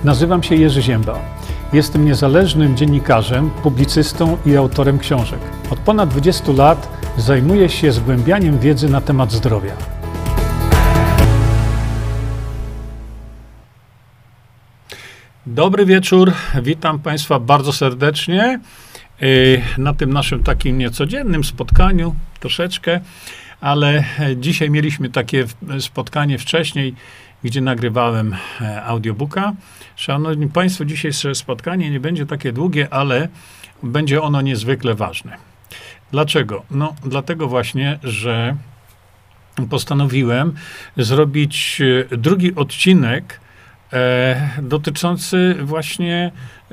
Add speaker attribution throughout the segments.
Speaker 1: Nazywam się Jerzy Ziemba. Jestem niezależnym dziennikarzem, publicystą i autorem książek. Od ponad 20 lat zajmuję się zgłębianiem wiedzy na temat zdrowia. Dobry wieczór, witam Państwa bardzo serdecznie na tym naszym takim niecodziennym spotkaniu, troszeczkę, ale dzisiaj mieliśmy takie spotkanie wcześniej, gdzie nagrywałem audiobooka. Szanowni Państwo, dzisiejsze spotkanie nie będzie takie długie, ale będzie ono niezwykle ważne. Dlaczego? No, dlatego właśnie, że postanowiłem zrobić drugi odcinek dotyczący właśnie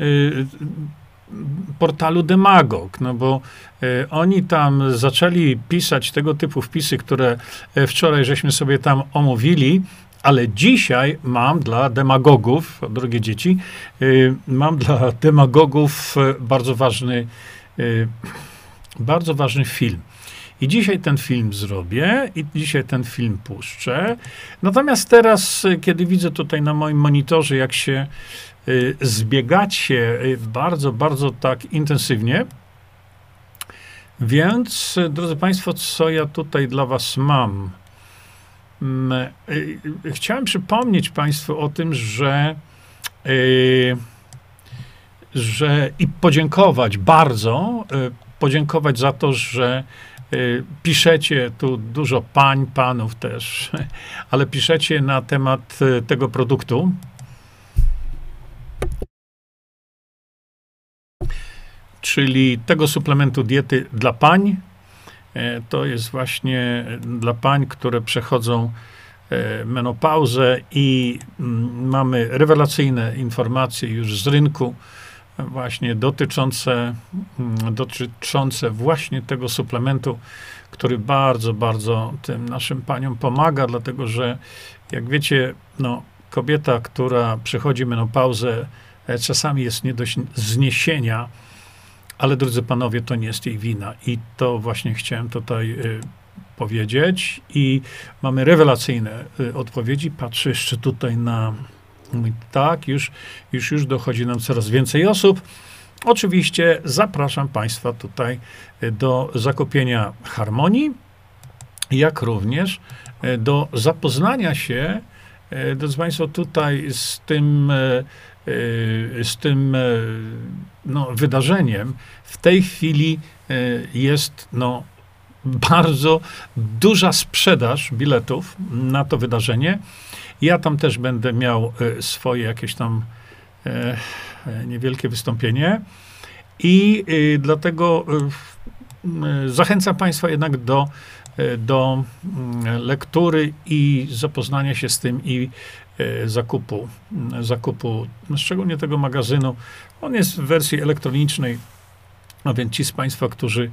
Speaker 1: portalu Demagog, no bo oni tam zaczęli pisać tego typu wpisy, które wczoraj żeśmy sobie tam omówili, ale dzisiaj mam dla demagogów, drogie dzieci, mam dla demagogów bardzo ważny film. I dzisiaj ten film zrobię i dzisiaj ten film puszczę. Natomiast teraz, kiedy widzę tutaj na moim monitorze, jak się zbiegacie bardzo tak intensywnie, więc, drodzy Państwo, co ja tutaj dla Was mam? Chciałem przypomnieć Państwu o tym, że i podziękować bardzo, podziękować za to, że piszecie tu dużo pań, panów też, ale piszecie na temat tego produktu. Czyli tego suplementu diety dla pań. To jest właśnie dla pań, które przechodzą menopauzę i mamy rewelacyjne informacje już z rynku właśnie dotyczące właśnie tego suplementu, który bardzo tym naszym paniom pomaga, dlatego że jak wiecie, no, kobieta, która przechodzi menopauzę, czasami jest nie do zniesienia, ale drodzy panowie, to nie jest jej wina i to właśnie chciałem tutaj powiedzieć i mamy rewelacyjne odpowiedzi. Patrzę jeszcze tutaj na tak, już dochodzi nam coraz więcej osób. Oczywiście zapraszam Państwa tutaj do zakupienia Harmonii, jak również do zapoznania się, drodzy Państwo, tutaj z tym no, wydarzeniem. W tej chwili jest no, bardzo duża sprzedaż biletów na to wydarzenie. Ja tam też będę miał swoje jakieś tam niewielkie wystąpienie i dlatego zachęcam Państwa jednak do lektury i zapoznania się z tym i zakupu, szczególnie tego magazynu. On jest w wersji elektronicznej, a więc ci z Państwa,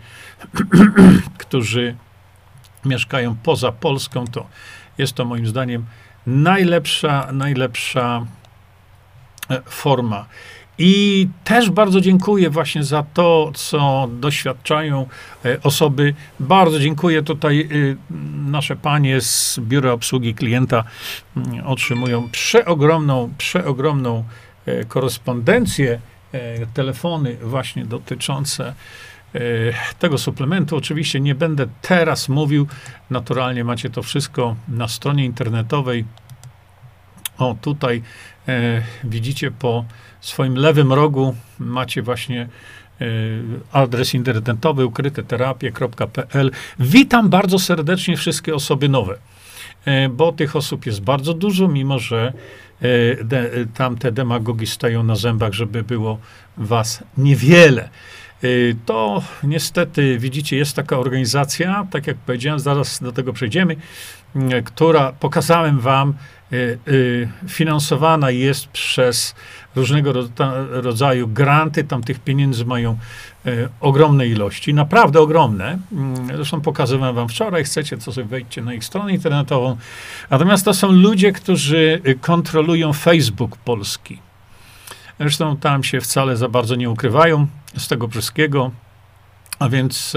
Speaker 1: którzy mieszkają poza Polską, to jest to moim zdaniem najlepsza forma. I też bardzo dziękuję właśnie za to, co doświadczają osoby. Bardzo dziękuję tutaj nasze panie z Biura Obsługi Klienta otrzymują przeogromną korespondencję, telefony właśnie dotyczące tego suplementu. Oczywiście nie będę teraz mówił, naturalnie macie to wszystko na stronie internetowej. O, tutaj widzicie po swoim lewym rogu macie właśnie adres internetowy ukryteterapie.pl. Witam bardzo serdecznie wszystkie osoby nowe, bo tych osób jest bardzo dużo, mimo że tamte demagogi stają na zębach, żeby było was niewiele. To niestety, widzicie, jest taka organizacja, tak jak powiedziałem, zaraz do tego przejdziemy, która, pokazałem wam, finansowana jest przez różnego rodzaju granty. Tam tych pieniędzy mają ogromne ilości, naprawdę ogromne. Zresztą pokazywałem wam wczoraj, chcecie, to sobie wejdźcie na ich stronę internetową. Natomiast to są ludzie, którzy kontrolują Facebook Polski. Zresztą tam się wcale za bardzo nie ukrywają z tego wszystkiego. A więc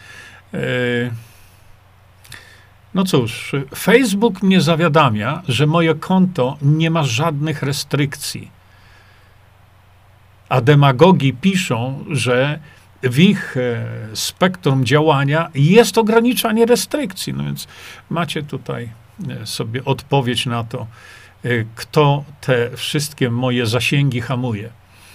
Speaker 1: no cóż, Facebook mnie zawiadamia, że moje konto nie ma żadnych restrykcji. a demagogi piszą, że w ich spektrum działania jest ograniczanie restrykcji. No więc macie tutaj sobie odpowiedź na to, kto te wszystkie moje zasięgi hamuje.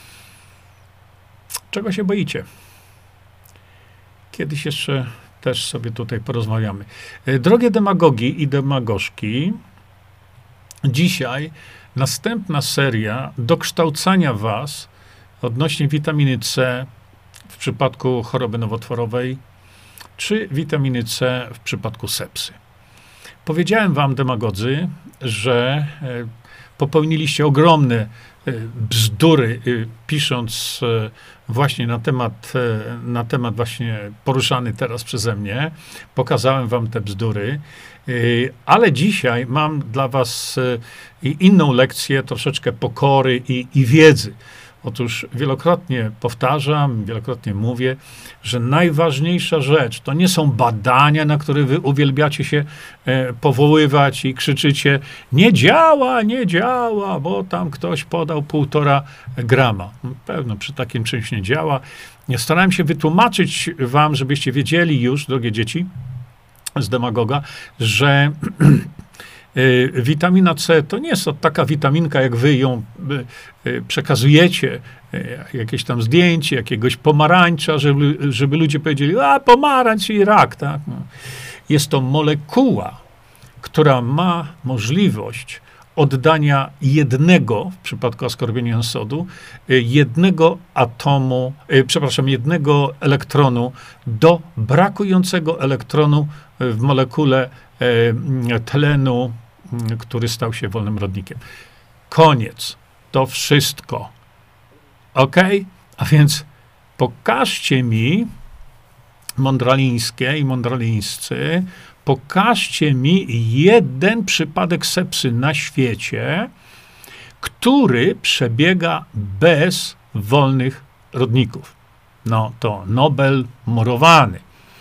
Speaker 1: Czego się boicie? Kiedyś jeszcze też sobie tutaj porozmawiamy. Drogie demagogi i demagożki, dzisiaj następna seria dokształcania was odnośnie witaminy C w przypadku choroby nowotworowej, czy witaminy C w przypadku sepsy. Powiedziałem wam, demagodzy, że popełniliście bzdury, pisząc właśnie na temat właśnie poruszany teraz przeze mnie. Pokazałem wam te bzdury, ale dzisiaj mam dla was inną lekcję, troszeczkę pokory i wiedzy. Otóż wielokrotnie powtarzam, wielokrotnie mówię, że najważniejsza rzecz to nie są badania, na które wy uwielbiacie się powoływać i krzyczycie: nie działa, nie działa, bo tam ktoś podał 1,5 grama. Pewno przy takim czymś nie działa. Starałem się wytłumaczyć wam, żebyście wiedzieli już, drogie dzieci z demagoga, że witamina C to nie jest taka witaminka, jak wy ją przekazujecie, jakieś tam zdjęcie jakiegoś pomarańcza, żeby ludzie powiedzieli: a pomarańcz i rak, tak? No. Jest to molekuła, która ma możliwość oddania jednego, w przypadku askorbionu sodu, jednego elektronu do brakującego elektronu w molekule tlenu, który stał się wolnym rodnikiem. Koniec. To wszystko. Ok? A więc pokażcie mi, mądralińskie i mądralińscy, pokażcie mi jeden przypadek sepsy na świecie, który przebiega bez wolnych rodników. No to Nobel murowany.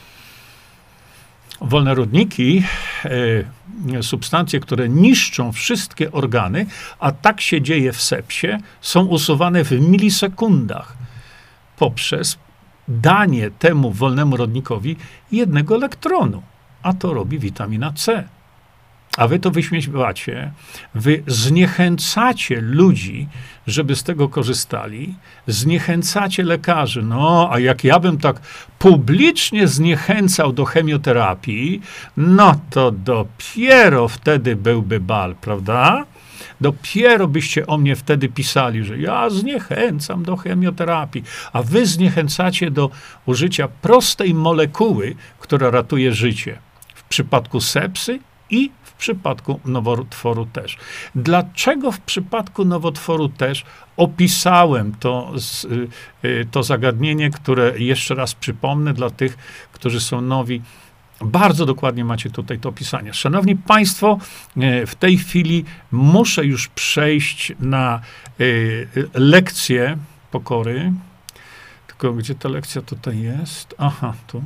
Speaker 1: Wolne rodniki, substancje, które niszczą wszystkie organy, a tak się dzieje w sepsie, są usuwane w milisekundach poprzez danie temu wolnemu rodnikowi jednego elektronu. A to robi witamina C. A wy to wyśmiewacie, wy zniechęcacie ludzi, żeby z tego korzystali, zniechęcacie lekarzy. No, a jak ja bym tak publicznie zniechęcał do chemioterapii, no to dopiero wtedy byłby bal, prawda? Dopiero byście o mnie wtedy pisali, że ja zniechęcam do chemioterapii, a wy zniechęcacie do użycia prostej molekuły, która ratuje życie. W przypadku sepsy i w przypadku nowotworu też. Dlaczego w przypadku nowotworu też opisałem to zagadnienie, które jeszcze raz przypomnę dla tych, którzy są nowi. Bardzo dokładnie macie tutaj to opisanie. Szanowni Państwo, w tej chwili muszę już przejść na lekcję pokory. Tylko gdzie ta lekcja tutaj jest? Aha, tu.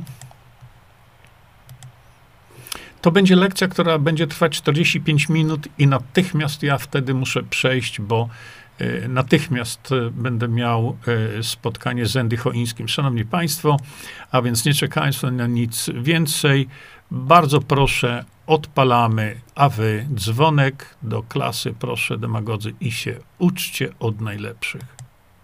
Speaker 1: To będzie lekcja, która będzie trwać 45 minut i natychmiast ja wtedy muszę przejść, bo natychmiast będę miał spotkanie z Andy Choińskim. Szanowni Państwo, a więc nie czekając na nic więcej, bardzo proszę, odpalamy, a wy dzwonek do klasy, proszę, demagodzy, i się uczcie od najlepszych.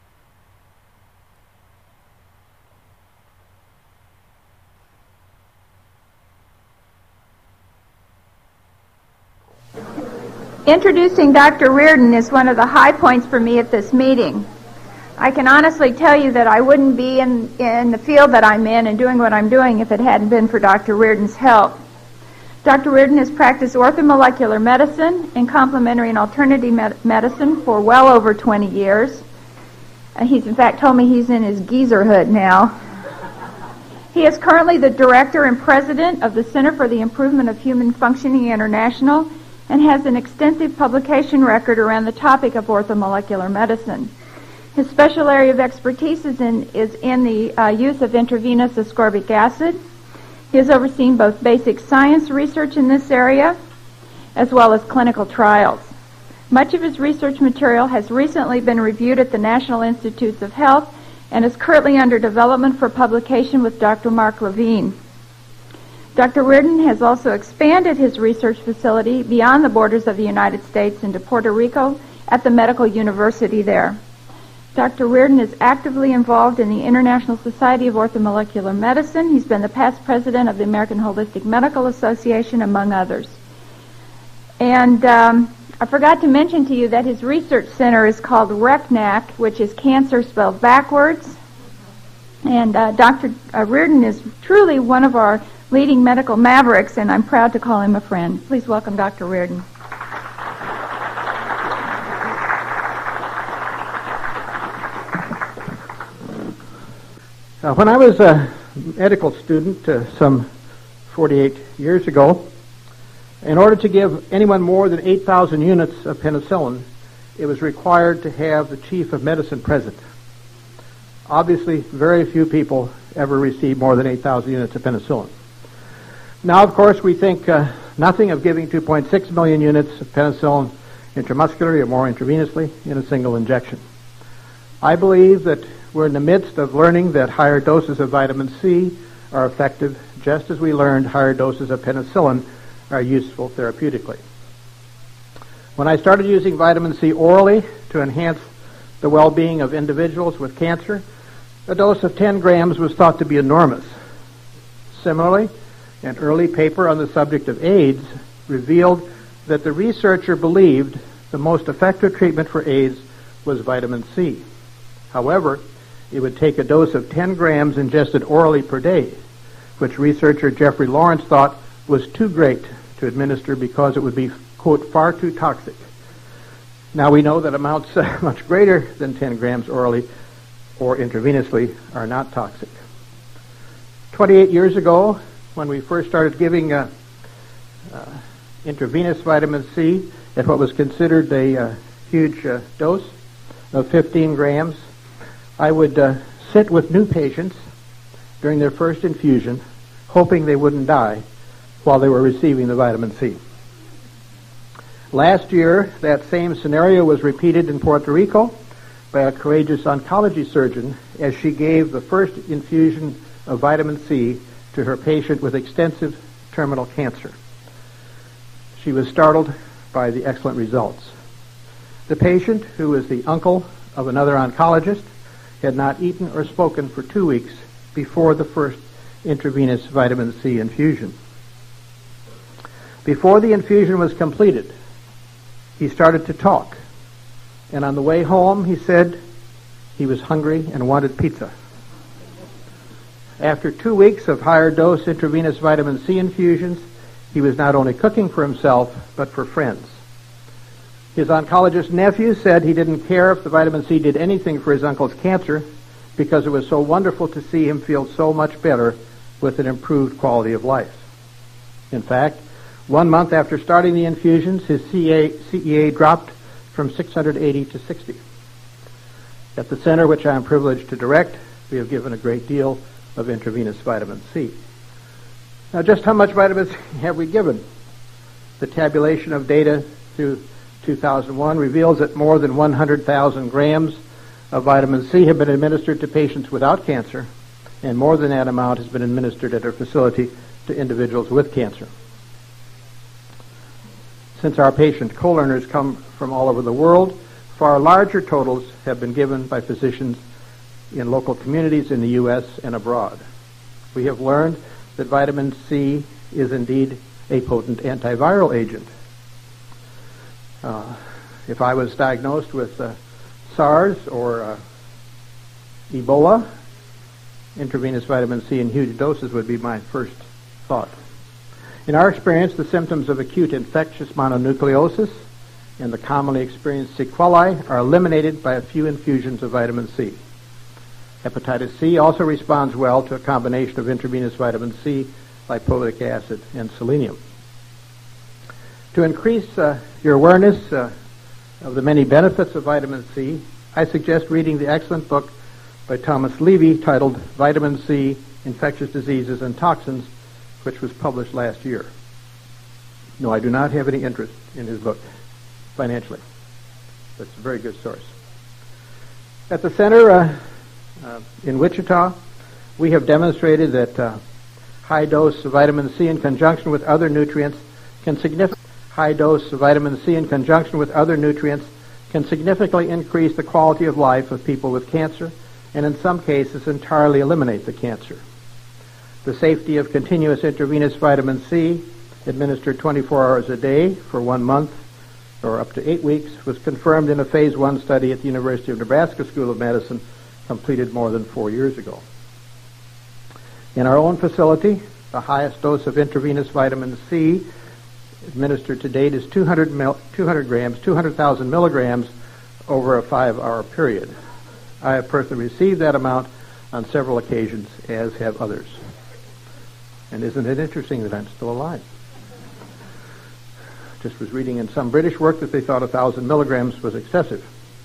Speaker 2: Introducing Dr. Reardon is one of the high points for me at this meeting. I can honestly tell you that I wouldn't be in the field that I'm in and doing what I'm doing if it hadn't been for Dr. Reardon's help. Dr. Reardon has practiced orthomolecular medicine and complementary and alternative medicine for well over 20 years. He's in fact told me he's in his geezerhood now. He is currently the director and president of the Center for the Improvement of Human Functioning International and has an extensive publication record around the topic of orthomolecular medicine. His special area of expertise is in the use of intravenous ascorbic acid. He has overseen both basic science research in this area as well as clinical trials. Much of his research material has recently been reviewed at the National Institutes of Health and is currently under development for publication with Dr. Mark Levine. Dr. Reardon has also expanded his research facility beyond the borders of the United States into Puerto Rico at the Medical University there. Dr. Reardon is actively involved in the International Society of Orthomolecular Medicine. He's been the past president of the American Holistic Medical Association, among others. And I forgot to mention to you that his research center is called RECNAC, which is cancer spelled backwards. And Dr. Reardon is truly one of our leading medical mavericks, and I'm proud to call him a friend. Please welcome Dr. Reardon.
Speaker 3: When I was a medical student some 48 years ago, in order to give anyone more than 8,000 units of penicillin, it was required to have the chief of medicine present. Obviously, very few people ever received more than 8,000 units of penicillin. Now, of course, we think nothing of giving 2.6 million units of penicillin intramuscularly or more intravenously in a single injection. I believe that we're in the midst of learning that higher doses of vitamin C are effective, just as we learned higher doses of penicillin are useful therapeutically. When I started using vitamin C orally to enhance the well-being of individuals with cancer, a dose of 10 grams was thought to be enormous. Similarly, an early paper on the subject of AIDS revealed that the researcher believed the most effective treatment for AIDS was vitamin C. However, it would take a dose of 10 grams ingested orally per day, which researcher Jeffrey Lawrence thought was too great to administer because it would be, quote, far too toxic. Now we know that amounts much greater than 10 grams orally or intravenously are not toxic. 28 years ago, when we first started giving intravenous vitamin C at what was considered a huge dose of 15 grams, I would sit with new patients during their first infusion, hoping they wouldn't die while they were receiving the vitamin C. Last year, that same scenario was repeated in Puerto Rico by a courageous oncology surgeon as she gave the first infusion of vitamin C to her patient with extensive terminal cancer. She was startled by the excellent results. The patient, who is the uncle of another oncologist, had not eaten or spoken for 2 weeks before the first intravenous vitamin C infusion. Before the infusion was completed, he started to talk, and on the way home he said he was hungry and wanted pizza. After 2 weeks of higher dose intravenous vitamin C infusions, he was not only cooking for himself, but for friends. His oncologist nephew said he didn't care if the vitamin C did anything for his uncle's cancer because it was so wonderful to see him feel so much better with an improved quality of life. In fact, 1 month after starting the infusions, his CEA dropped from 680 to 60. At the center, which I am privileged to direct, we have given a great deal of intravenous vitamin C. Now, just how much vitamin C have we given? The tabulation of data through 2001 reveals that more than 100,000 grams of vitamin C have been administered to patients without cancer, and more than that amount has been administered at our facility to individuals with cancer. Since our patient co-learners come from all over the world, far larger totals have been given by physicians in local communities in the U.S. and abroad. We have learned that vitamin C is indeed a potent antiviral agent. If I was diagnosed with SARS or Ebola, intravenous vitamin C in huge doses would be my first thought. In our experience, the symptoms of acute infectious mononucleosis and the commonly experienced sequelae are eliminated by a few infusions of vitamin C. Hepatitis C also responds well to a combination of intravenous vitamin C, lipoic acid, and selenium. To increase your awareness of the many benefits of vitamin C, I suggest reading the excellent book by Thomas Levy titled Vitamin C, Infectious Diseases and Toxins, which was published last year. No, I do not have any interest in his book financially. That's a very good source. At the center in Wichita, we have demonstrated that high dose of vitamin C in conjunction with other nutrients can significantly increase the quality of life of people with cancer, and in some cases entirely eliminate the cancer. The safety of continuous intravenous vitamin C administered 24 hours a day for 1 month or up to 8 weeks was confirmed in a phase 1 study at the University of Nebraska School of Medicine completed more than 4 years ago. In our own facility, the highest dose of intravenous vitamin C administered to date is 200,000 milligrams over a 5-hour period. I have personally received that amount on several occasions, as have others. And isn't it interesting that I'm still alive? Just was reading in some British work that they thought 1,000 milligrams was excessive.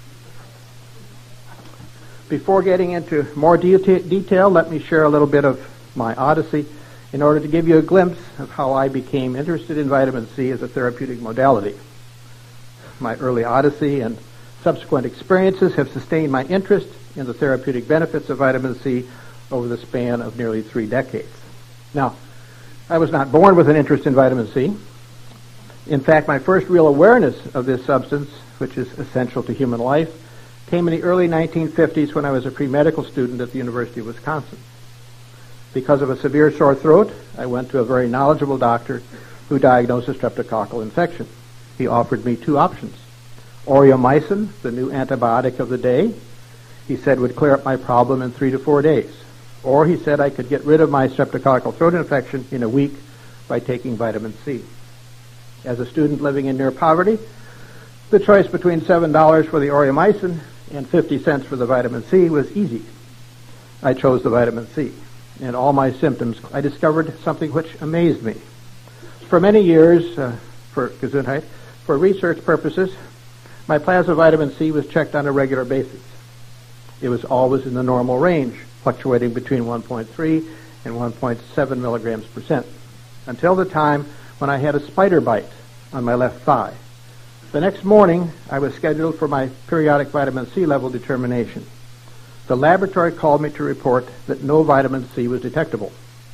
Speaker 3: Before getting into more detail, let me share a little bit of my odyssey in order to give you a glimpse of how I became interested in vitamin C as a therapeutic modality. My early odyssey and subsequent experiences have sustained my interest in the therapeutic benefits of vitamin C over the span of nearly 3 decades. Now, I was not born with an interest in vitamin C. In fact, my first real awareness of this substance, which is essential to human life, came in the early 1950s when I was a pre-medical student at the University of Wisconsin. Because of a severe sore throat, I went to a very knowledgeable doctor who diagnosed a streptococcal infection. He offered me 2 options. Aureomycin, the new antibiotic of the day, he said would clear up my problem in 3 to 4 days. Or he said I could get rid of my streptococcal throat infection in a week by taking vitamin C. As a student living in near poverty, the choice between $7 for the Aureomycin and 50 cents for the vitamin C was easy. I chose the vitamin C. And all my symptoms, I discovered something which amazed me. For many years, for Gesundheit, for research purposes, my plasma vitamin C was checked on a regular basis. It was always in the normal range, fluctuating between 1.3 and 1.7 milligrams percent, until the time when I had a spider bite on my left thigh. The next morning, I was scheduled for my periodic vitamin C level determination. The laboratory called me to report that no vitamin C was detectable.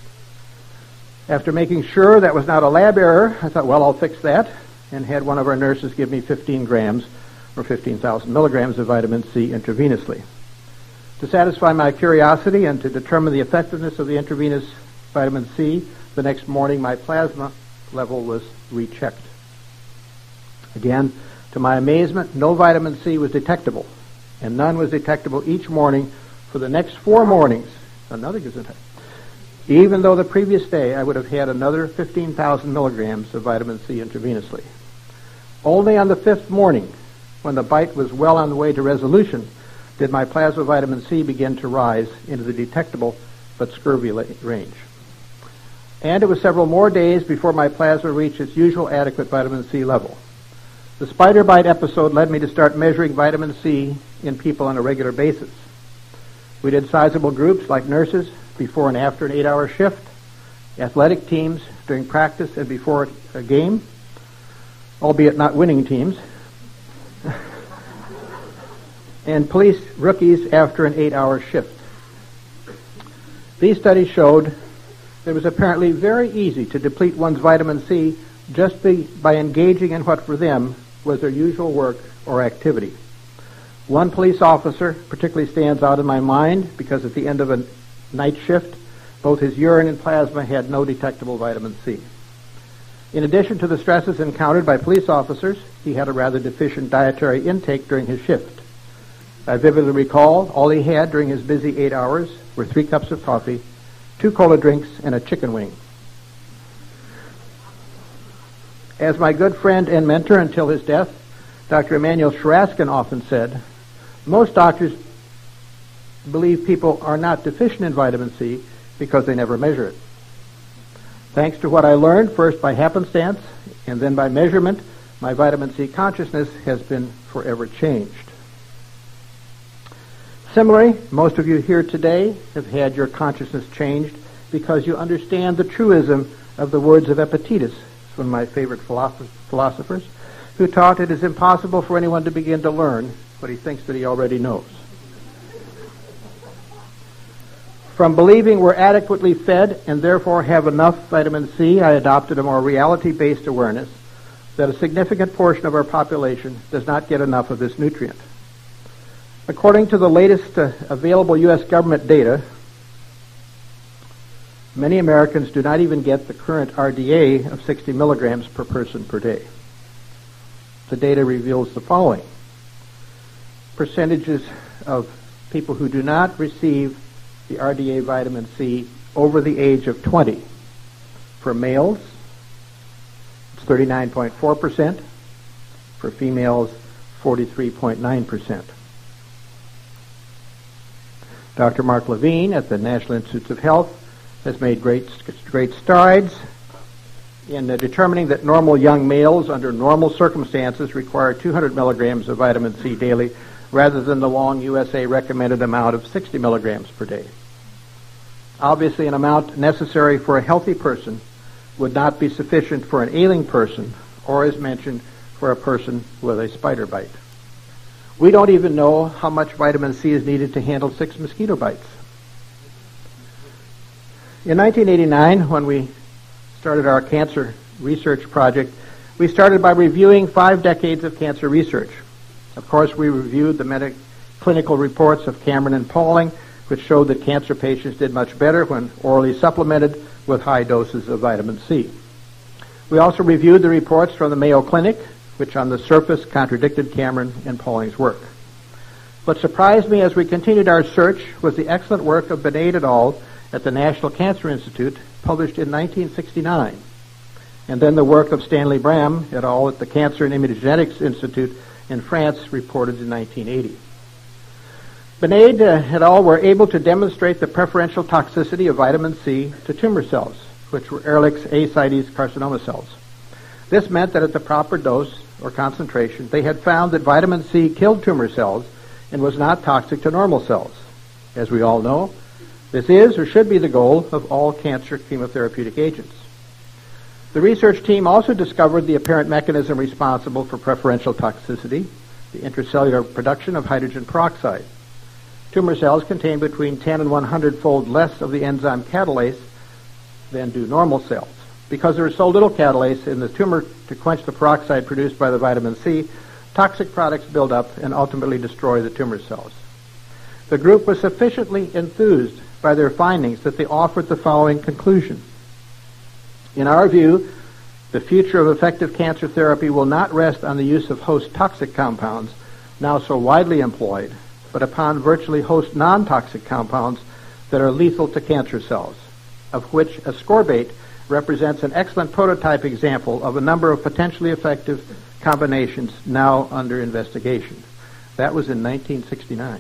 Speaker 3: After making sure that was not a lab error, I thought, well, I'll fix that, and had one of our nurses give me 15 grams or 15,000 milligrams of vitamin C intravenously. To satisfy my curiosity and to determine the effectiveness of the intravenous vitamin C, the next morning my plasma level was rechecked. Again, to my amazement, no vitamin C was detectable, and none was detectable each morning for the next 4 mornings. Another Gesundheit. Even though the previous day I would have had another 15,000 milligrams of vitamin C intravenously. Only on the 5th morning, when the bite was well on the way to resolution, did my plasma vitamin C begin to rise into the detectable but scurvy range. And it was several more days before my plasma reached its usual adequate vitamin C level. The spider bite episode led me to start measuring vitamin C in people on a regular basis. We did sizable groups like nurses before and after an 8-hour shift, athletic teams during practice and before a game, albeit not winning teams, and police rookies after an 8-hour shift. These studies showed that it was apparently very easy to deplete one's vitamin C just by engaging in what for them was their usual work or activity. One police officer particularly stands out in my mind because at the end of a night shift, both his urine and plasma had no detectable vitamin C. In addition to the stresses encountered by police officers, he had a rather deficient dietary intake during his shift. I vividly recall all he had during his busy 8 hours were 3 cups of coffee, 2 cola drinks, and a chicken wing. As my good friend and mentor until his death, Dr. Emanuel Shraskin often said, most doctors believe people are not deficient in vitamin C because they never measure it. Thanks to what I learned, first by happenstance and then by measurement, my vitamin C consciousness has been forever changed. Similarly, most of you here today have had your consciousness changed because you understand the truism of the words of Epictetus, one of my favorite philosophers. who taught it is impossible for anyone to begin to learn what he thinks that he already knows. From believing we're adequately fed and therefore have enough vitamin C, I adopted a more reality-based awareness that a significant portion of our population does not get enough of this nutrient. According to the latest available U.S. government data, many Americans do not even get the current RDA of 60 milligrams per person per day. The data reveals the following. Percentages of people who do not receive the RDA vitamin C over the age of 20. For males, it's 39.4%. For females, 43.9%. Dr. Mark Levine at the National Institutes of Health has made great strides in determining that normal young males under normal circumstances require 200 milligrams of vitamin C daily rather than the long USA recommended amount of 60 milligrams per day. Obviously, an amount necessary for a healthy person would not be sufficient for an ailing person or, as mentioned, for a person with a spider bite. We don't even know how much vitamin C is needed to handle 6 mosquito bites. In 1989, when we started our cancer research project, we started by reviewing 5 decades of cancer research. Of course, we reviewed the clinical reports of Cameron and Pauling, which showed that cancer patients did much better when orally supplemented with high doses of vitamin C. We also reviewed the reports from the Mayo Clinic, which on the surface contradicted Cameron and Pauling's work. What surprised me as we continued our search was the excellent work of Benaid et al. At the National Cancer Institute, published in 1969, and then the work of Stanley Bram et al. At the Cancer and Immunogenetics Institute in France, reported in 1980. Benaid et al. Were able to demonstrate the preferential toxicity of vitamin C to tumor cells, which were Ehrlich's ascites carcinoma cells. This meant that at the proper dose or concentration, they had found that vitamin C killed tumor cells and was not toxic to normal cells. As we all know, this is or should be the goal of all cancer chemotherapeutic agents. The research team also discovered the apparent mechanism responsible for preferential toxicity, the intracellular production of hydrogen peroxide. Tumor cells contain between 10 and 100-fold less of the enzyme catalase than do normal cells. Because there is so little catalase in the tumor to quench the peroxide produced by the vitamin C, toxic products build up and ultimately destroy the tumor cells. The group was sufficiently enthused by their findings that they offered the following conclusion. In our view, the future of effective cancer therapy will not rest on the use of host toxic compounds, now so widely employed, but upon virtually host non-toxic compounds that are lethal to cancer cells, of which ascorbate represents an excellent prototype example of a number of potentially effective combinations now under investigation. That was in 1969.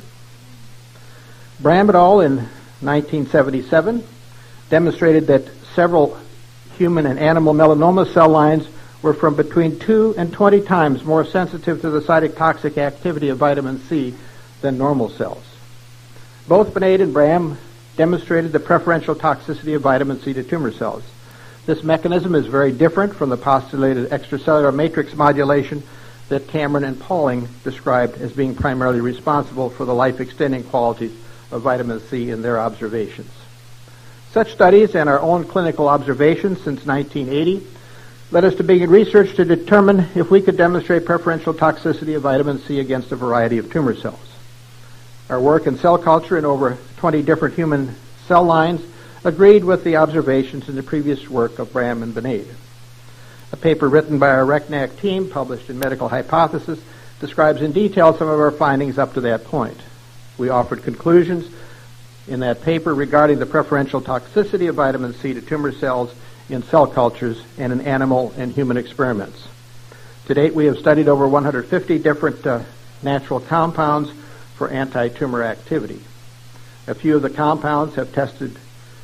Speaker 3: Bram et al. In 1977 demonstrated that several human and animal melanoma cell lines were from between 2 and 20 times more sensitive to the cytotoxic activity of vitamin C than normal cells. Both Benaid and Bram demonstrated the preferential toxicity of vitamin C to tumor cells. This mechanism is very different from the postulated extracellular matrix modulation that Cameron and Pauling described as being primarily responsible for the life-extending qualities of vitamin C in their observations. Such studies and our own clinical observations since 1980 led us to begin research to determine if we could demonstrate preferential toxicity of vitamin C against a variety of tumor cells. Our work in cell culture in over 20 different human cell lines agreed with the observations in the previous work of Bram and Benaid. A paper written by our RECNAC team, published in Medical Hypothesis, describes in detail some of our findings up to that point. We offered conclusions in that paper regarding the preferential toxicity of vitamin C to tumor cells in cell cultures and in animal and human experiments. To date, we have studied over 150 different natural compounds for anti-tumor activity. A few of the compounds have tested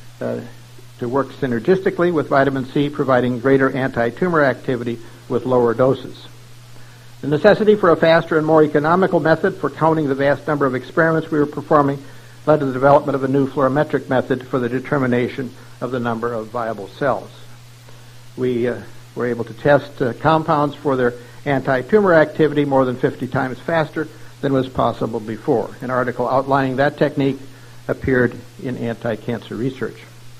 Speaker 3: to work synergistically with vitamin C, providing greater anti-tumor activity with lower doses. The necessity for a faster and more economical method for counting the vast number of experiments we were performing led to the development of a new fluorometric method for the determination of the number of viable cells. We were able to test compounds for their anti-tumor activity more than 50 times faster than was possible before. An article outlining that technique appeared in Anti-Cancer Research.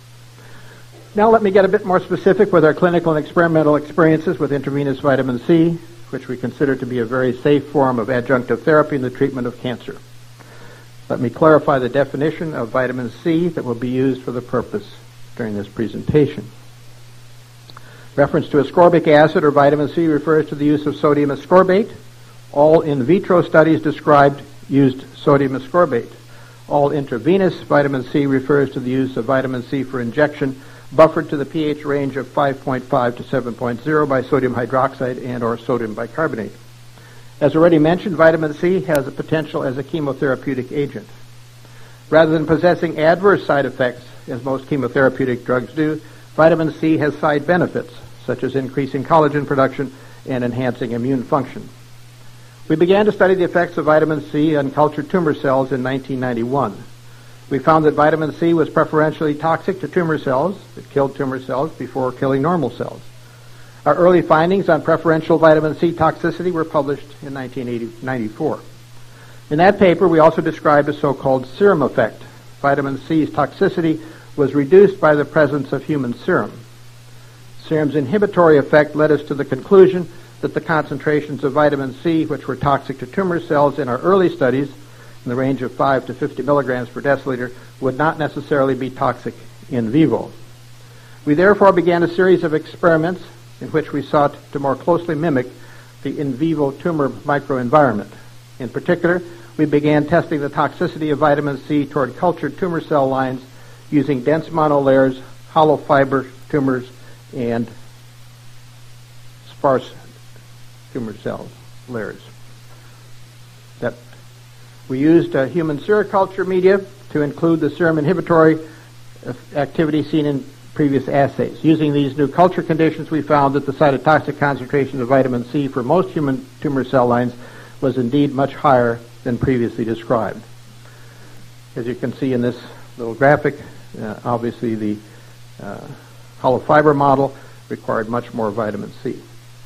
Speaker 3: Now let me get a bit more specific with our clinical and experimental experiences with intravenous vitamin C, which we consider to be a very safe form of adjunctive therapy in the treatment of cancer. Let me clarify the definition of vitamin C that will be used for the purpose during this presentation. Reference to ascorbic acid or vitamin C refers to the use of sodium ascorbate. All in vitro studies described used sodium ascorbate. All intravenous vitamin C refers to the use of vitamin C for injection buffered to the pH range of 5.5 to 7.0 by sodium hydroxide and or sodium bicarbonate. As already mentioned, vitamin C has a potential as a chemotherapeutic agent. Rather than possessing adverse side effects, as most chemotherapeutic drugs do, vitamin C has side benefits, such as increasing collagen production and enhancing immune function. We began to study the effects of vitamin C on cultured tumor cells in 1991. We found that vitamin C was preferentially toxic to tumor cells. It killed tumor cells before killing normal cells. Our early findings on preferential vitamin C toxicity were published in 1994. In that paper, we also described a so-called serum effect. Vitamin C's toxicity was reduced by the presence of human serum. Serum's inhibitory effect led us to the conclusion that the concentrations of vitamin C, which were toxic to tumor cells in our early studies, in the range of 5 to 50 milligrams per deciliter, would not necessarily be toxic in vivo. We therefore began a series of experiments in which we sought to more closely mimic the in vivo tumor microenvironment. In particular, we began testing the toxicity of vitamin C toward cultured tumor cell lines using dense monolayers, hollow fiber tumors, and sparse tumor cell layers. We used human seroculture media to include the serum inhibitory activity seen in previous assays. Using these new culture conditions, we found that the cytotoxic concentration of vitamin C for most human tumor cell lines was indeed much higher than previously described. As you can see in this little graphic, obviously the hollow fiber model required much more vitamin C.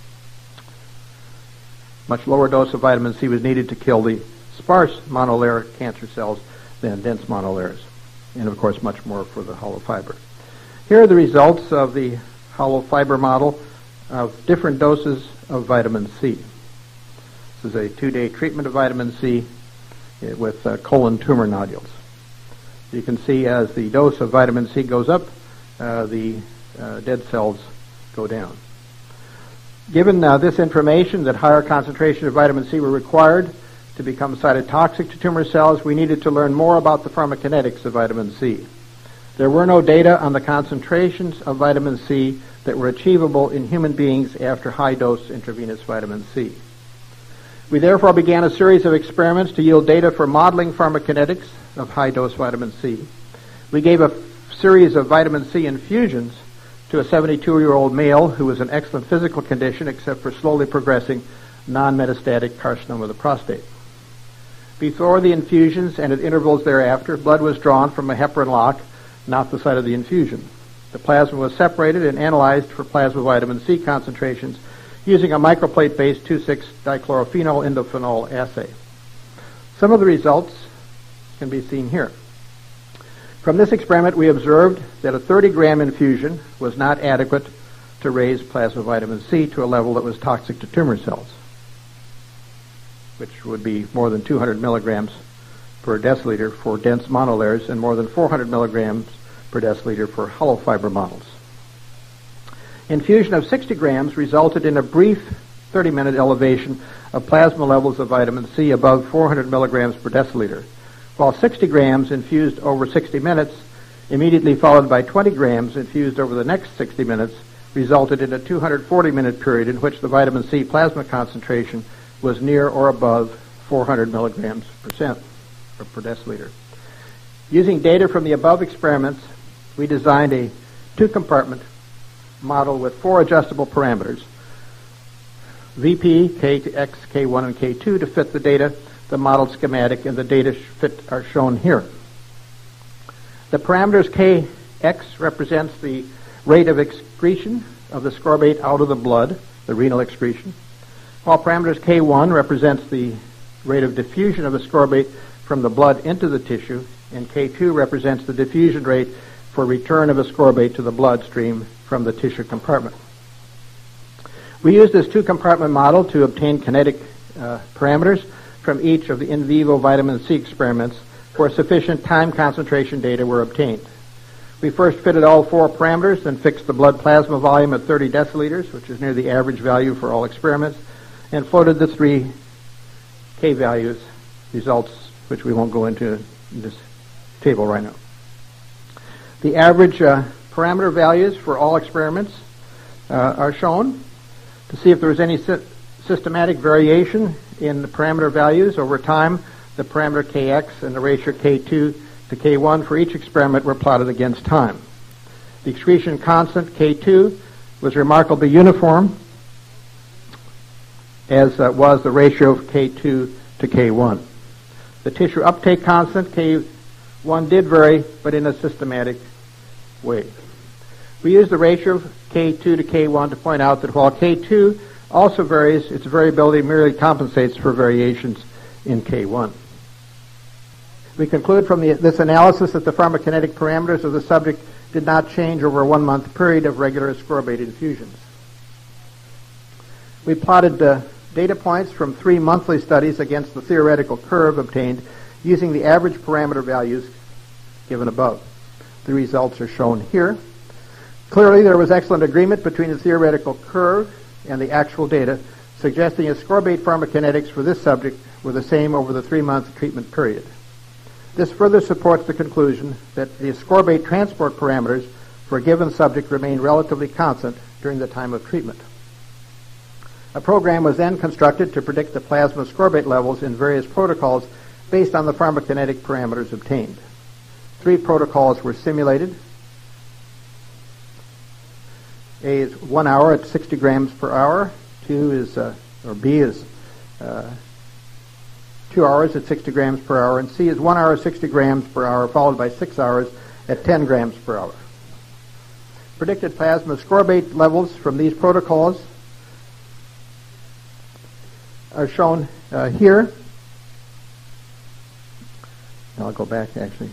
Speaker 3: Much lower dose of vitamin C was needed to kill the sparse monolayer cancer cells than dense monolayers, and of course much more for the hollow fiber. Here are the results of the hollow fiber model of different doses of vitamin C. This is a 2-day treatment of vitamin C with colon tumor nodules. You can see as the dose of vitamin C goes up, the dead cells go down. Given this information that higher concentration of vitamin C were required to become cytotoxic to tumor cells, we needed to learn more about the pharmacokinetics of vitamin C. There were no data on the concentrations of vitamin C that were achievable in human beings after high-dose intravenous vitamin C. We therefore began a series of experiments to yield data for modeling pharmacokinetics of high-dose vitamin C. We gave a series of vitamin C infusions to a 72-year-old male who was in excellent physical condition except for slowly progressing non-metastatic carcinoma of the prostate. Before the infusions and at intervals thereafter, blood was drawn from a heparin lock, not the site of the infusion. The plasma was separated and analyzed for plasma vitamin C concentrations using a microplate-based 2,6-dichlorophenol indophenol assay. Some of the results can be seen here. From this experiment, we observed that a 30-gram infusion was not adequate to raise plasma vitamin C to a level that was toxic to tumor cells, which would be more than 200 milligrams per deciliter for dense monolayers and more than 400 milligrams per deciliter for hollow fiber models. Infusion of 60 grams resulted in a brief 30-minute elevation of plasma levels of vitamin C above 400 milligrams per deciliter, while 60 grams infused over 60 minutes, immediately followed by 20 grams infused over the next 60 minutes, resulted in a 240-minute period in which the vitamin C plasma concentration was near or above 400 milligrams per deciliter. Using data from the above experiments, we designed a 2-compartment model with 4 adjustable parameters, VP, Kx, K1, and K2, to fit the data. The model schematic and the data fit are shown here. The parameters Kx represents the rate of excretion of the ascorbate out of the blood, the renal excretion. While parameters K1 represents the rate of diffusion of ascorbate from the blood into the tissue, and K2 represents the diffusion rate for return of ascorbate to the bloodstream from the tissue compartment. We use this two-compartment model to obtain kinetic parameters from each of the in vivo vitamin C experiments where sufficient time concentration data were obtained. We first fitted all 4 parameters, then fixed the blood plasma volume at 30 deciliters, which is near the average value for all experiments, and floated the 3 K values, results which we won't go into in this table right now. The average parameter values for all experiments are shown to see if there was any systematic variation in the parameter values over time. The parameter Kx and the ratio K2 to K1 for each experiment were plotted against time. The excretion constant K2 was remarkably uniform, as was the ratio of K2 to K1. The tissue uptake constant K1 did vary, but in a systematic way. We use the ratio of K2 to K1 to point out that while K2 also varies, its variability merely compensates for variations in K1. We conclude from this analysis that the pharmacokinetic parameters of the subject did not change over a 1-month period of regular ascorbate infusions. We plotted the data points from 3 monthly studies against the theoretical curve obtained using the average parameter values given above. The results are shown here. Clearly, there was excellent agreement between the theoretical curve and the actual data, suggesting ascorbate pharmacokinetics for this subject were the same over the 3-month treatment period. This further supports the conclusion that the ascorbate transport parameters for a given subject remained relatively constant during the time of treatment. A program was then constructed to predict the plasma ascorbate levels in various protocols based on the pharmacokinetic parameters obtained. 3 protocols were simulated. A is 1 hour at 60 grams per hour. B is 2 hours at 60 grams per hour, and C is 1 hour at 60 grams per hour, followed by 6 hours at 10 grams per hour. Predicted plasma ascorbate levels from these protocols are shown here. I'll go back actually.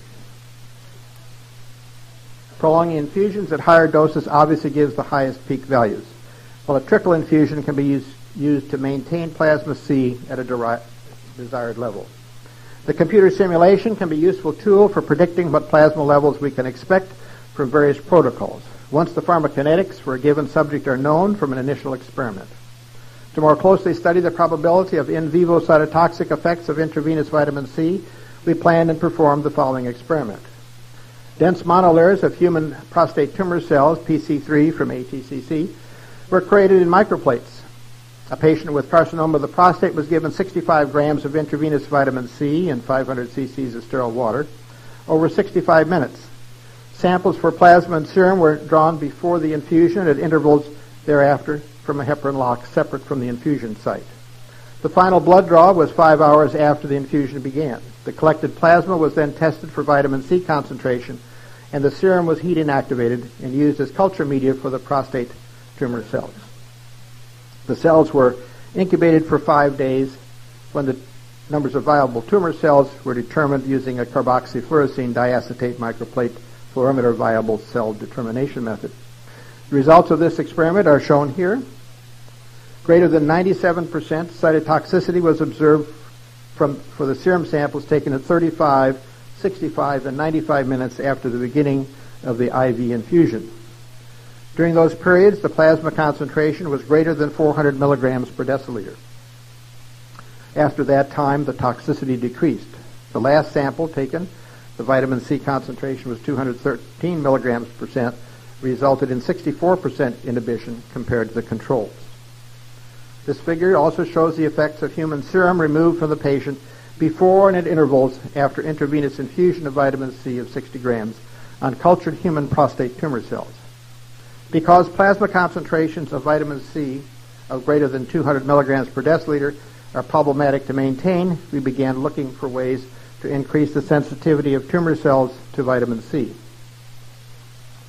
Speaker 3: Prolonging infusions at higher doses obviously gives the highest peak values, while a trickle infusion can be used to maintain plasma C at a desired level. The computer simulation can be a useful tool for predicting what plasma levels we can expect from various protocols, once the pharmacokinetics for a given subject are known from an initial experiment. To more closely study the probability of in vivo cytotoxic effects of intravenous vitamin C, we planned and performed the following experiment. Dense monolayers of human prostate tumor cells, PC3 from ATCC, were created in microplates. A patient with carcinoma of the prostate was given 65 grams of intravenous vitamin C and 500 cc's of sterile water over 65 minutes. Samples for plasma and serum were drawn before the infusion at intervals thereafter from a heparin lock separate from the infusion site. The final blood draw was 5 hours after the infusion began. The collected plasma was then tested for vitamin C concentration, and the serum was heat inactivated and used as culture media for the prostate tumor cells. The cells were incubated for 5 days when the numbers of viable tumor cells were determined using a carboxyfluorescein diacetate microplate fluorimeter viable cell determination method. The results of this experiment are shown here. Greater than 97% cytotoxicity was observed for the serum samples taken at 35, 65, and 95 minutes after the beginning of the IV infusion. During those periods, the plasma concentration was greater than 400 milligrams per deciliter. After that time, the toxicity decreased. The last sample taken, the vitamin C concentration was 213 milligrams percent, resulted in 64% inhibition compared to the controls. This figure also shows the effects of human serum removed from the patient before and at intervals after intravenous infusion of vitamin C of 60 grams on cultured human prostate tumor cells. Because plasma concentrations of vitamin C of greater than 200 milligrams per deciliter are problematic to maintain, we began looking for ways to increase the sensitivity of tumor cells to vitamin C.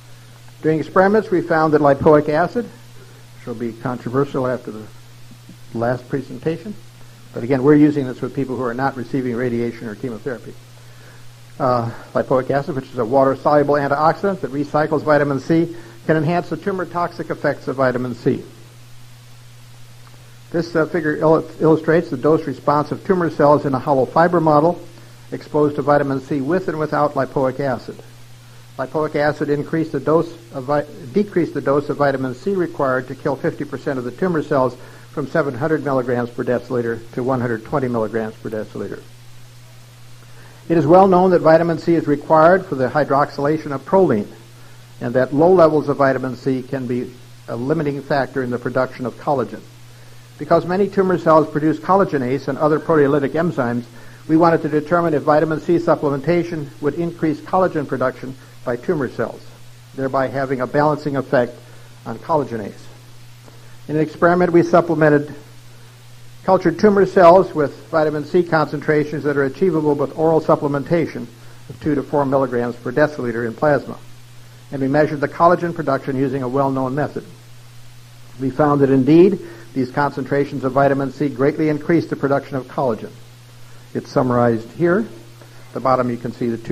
Speaker 3: During experiments, we found that lipoic acid, which will be controversial after the last presentation. But again, we're using this with people who are not receiving radiation or chemotherapy. Lipoic acid, which is a water-soluble antioxidant that recycles vitamin C, can enhance the tumor-toxic effects of vitamin C. This figure illustrates the dose response of tumor cells in a hollow fiber model exposed to vitamin C with and without lipoic acid. Lipoic acid decreased the dose of vitamin C required to kill 50% of the tumor cells from 700 milligrams per deciliter to 120 milligrams per deciliter. It is well known that vitamin C is required for the hydroxylation of proline, and that low levels of vitamin C can be a limiting factor in the production of collagen. Because many tumor cells produce collagenase and other proteolytic enzymes, we wanted to determine if vitamin C supplementation would increase collagen production by tumor cells, thereby having a balancing effect on collagenase. In an experiment, we supplemented cultured tumor cells with vitamin C concentrations that are achievable with oral supplementation of 2 to 4 milligrams per deciliter in plasma. And we measured the collagen production using a well-known method. We found that indeed, these concentrations of vitamin C greatly increased the production of collagen. It's summarized here. At the bottom you can see the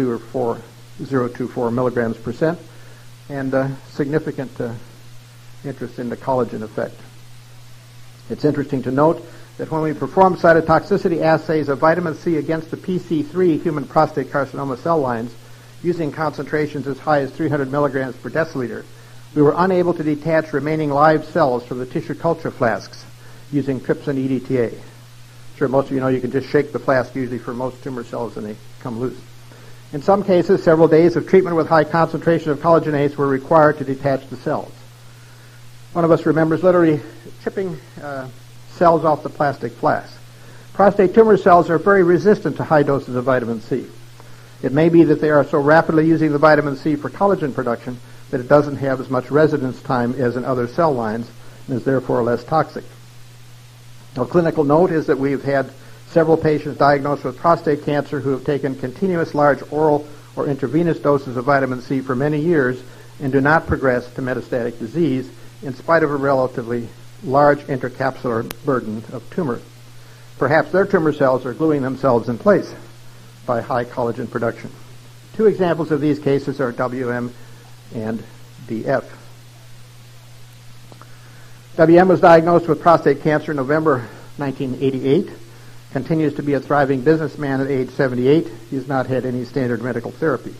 Speaker 3: 0.24 milligrams percent, and significant interest in the collagen effect. It's interesting to note that when we perform cytotoxicity assays of vitamin C against the PC3 human prostate carcinoma cell lines, using concentrations as high as 300 milligrams per deciliter, we were unable to detach remaining live cells from the tissue culture flasks using trypsin EDTA. Sure, most of you know you can just shake the flask usually for most tumor cells and they come loose. In some cases, several days of treatment with high concentration of collagenase were required to detach the cells. One of us remembers literally chipping cells off the plastic flask. Prostate tumor cells are very resistant to high doses of vitamin C. It may be that they are so rapidly using the vitamin C for collagen production that it doesn't have as much residence time as in other cell lines and is therefore less toxic. A clinical note is that we've had several patients diagnosed with prostate cancer who have taken continuous large oral or intravenous doses of vitamin C for many years and do not progress to metastatic disease in spite of a relatively large intracapsular burden of tumor. Perhaps their tumor cells are gluing themselves in place by high collagen production. Two examples of these cases are WM and DF. WM was diagnosed with prostate cancer in November 1988, continues to be a thriving businessman at age 78. He has not had any standard medical therapy.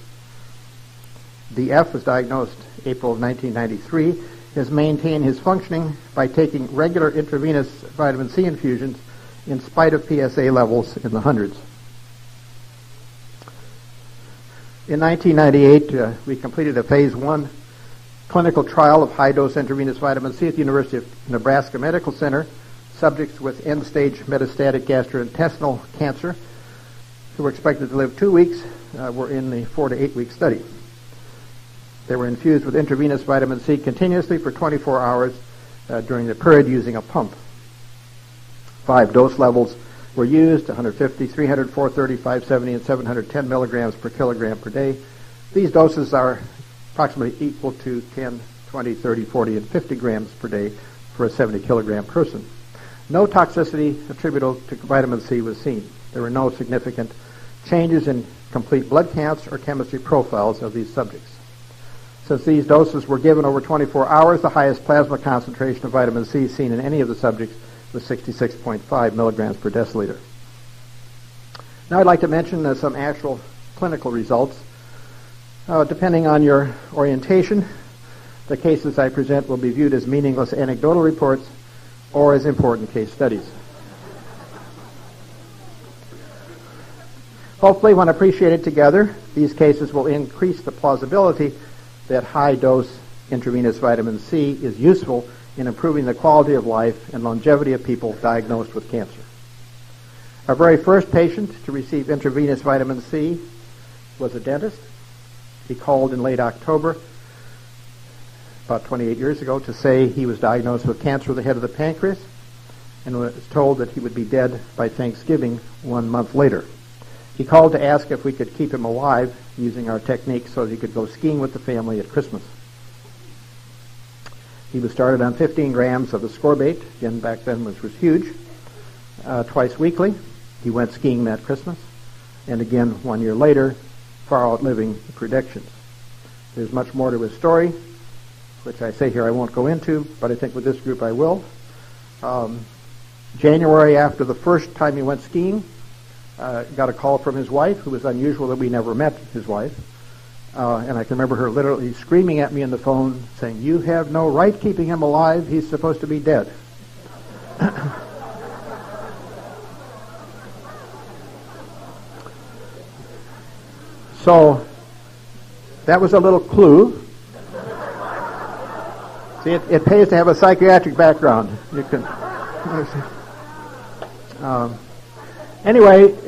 Speaker 3: DF was diagnosed April of 1993, has maintained his functioning by taking regular intravenous vitamin C infusions in spite of PSA levels in the hundreds. In 1998, we completed a phase 1 clinical trial of high-dose intravenous vitamin C at the University of Nebraska Medical Center. Subjects with end-stage metastatic gastrointestinal cancer who were expected to live 2 weeks were in the 4 to 8 week study. They were infused with intravenous vitamin C continuously for 24 hours during the period using a pump. 5 dose levels were used: 150, 300, 430, 570, and 710 milligrams per kilogram per day. These doses are approximately equal to 10, 20, 30, 40, and 50 grams per day for a 70 kilogram person. No toxicity attributable to vitamin C was seen. There were no significant changes in complete blood counts or chemistry profiles of these subjects. Since these doses were given over 24 hours, the highest plasma concentration of vitamin C seen in any of the subjects was 66.5 milligrams per deciliter. Now I'd like to mention some actual clinical results. Depending on your orientation, the cases I present will be viewed as meaningless anecdotal reports or as important case studies. Hopefully, when appreciated together, these cases will increase the plausibility that high-dose intravenous vitamin C is useful in improving the quality of life and longevity of people diagnosed with cancer. Our very first patient to receive intravenous vitamin C was a dentist. He called in late October, about 28 years ago, to say he was diagnosed with cancer of the head of the pancreas and was told that he would be dead by Thanksgiving 1 month later. He called to ask if we could keep him alive using our technique so that he could go skiing with the family at Christmas. He was started on 15 grams of ascorbate, again back then which was huge, twice weekly. He went skiing that Christmas, and again 1 year later, far outliving the predictions. There's much more to his story, which I say here I won't go into, but I think with this group I will. January, after the first time he went skiing, got a call from his wife, who was unusual that we never met his wife. And I can remember her literally screaming at me on the phone, saying, "You have no right keeping him alive. He's supposed to be dead." So that was a little clue. See, it pays to have a psychiatric background. You can. Anyway,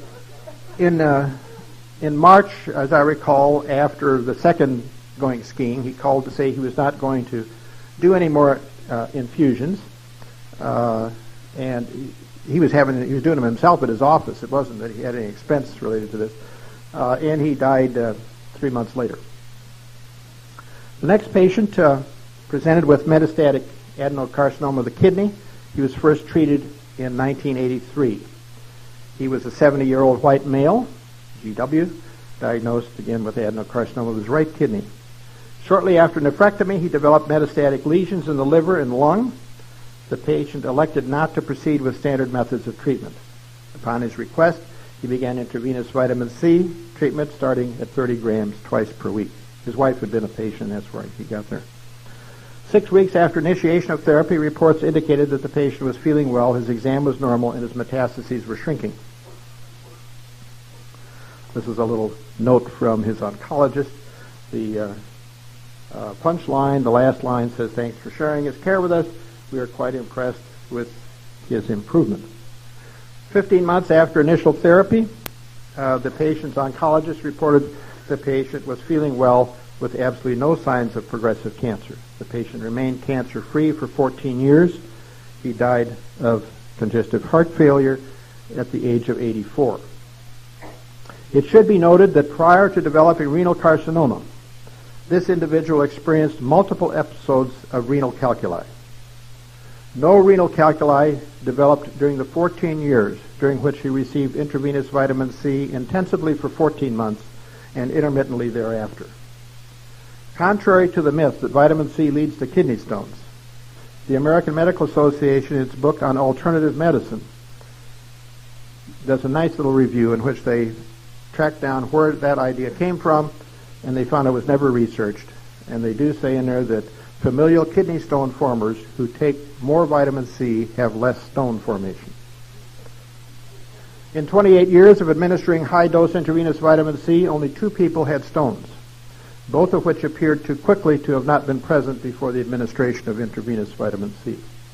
Speaker 3: in March, as I recall, after the second going skiing, he called to say he was not going to do any more infusions, and he was doing them himself at his office. It wasn't that he had any expense related to this, and he died 3 months later. The next patient presented with metastatic adenocarcinoma of the kidney. He was first treated in 1983. He was a 70-year-old white male, GW, diagnosed again with adenocarcinoma of his right kidney. Shortly after nephrectomy, he developed metastatic lesions in the liver and lung. The patient elected not to proceed with standard methods of treatment. Upon his request, he began intravenous vitamin C treatment starting at 30 grams twice per week. His wife had been a patient, that's why he got there. 6 weeks after initiation of therapy, reports indicated that the patient was feeling well, his exam was normal, and his metastases were shrinking. This is a little note from his oncologist. The punchline, the last line says, "Thanks for sharing his care with us. We are quite impressed with his improvement." 15 months after initial therapy, the patient's oncologist reported the patient was feeling well with absolutely no signs of progressive cancer. The patient remained cancer-free for 14 years. He died of congestive heart failure at the age of 84. It should be noted that prior to developing renal carcinoma, this individual experienced multiple episodes of renal calculi. No renal calculi developed during the 14 years during which he received intravenous vitamin C intensively for 14 months and intermittently thereafter. Contrary to the myth that vitamin C leads to kidney stones, the American Medical Association, in its book on alternative medicine, does a nice little review in which they track down where that idea came from, and they found it was never researched. And they do say in there that familial kidney stone formers who take more vitamin C have less stone formation. In 28 years of administering high-dose intravenous vitamin C, only 2 people had stones, both of which appeared too quickly to have not been present before the administration of intravenous vitamin C.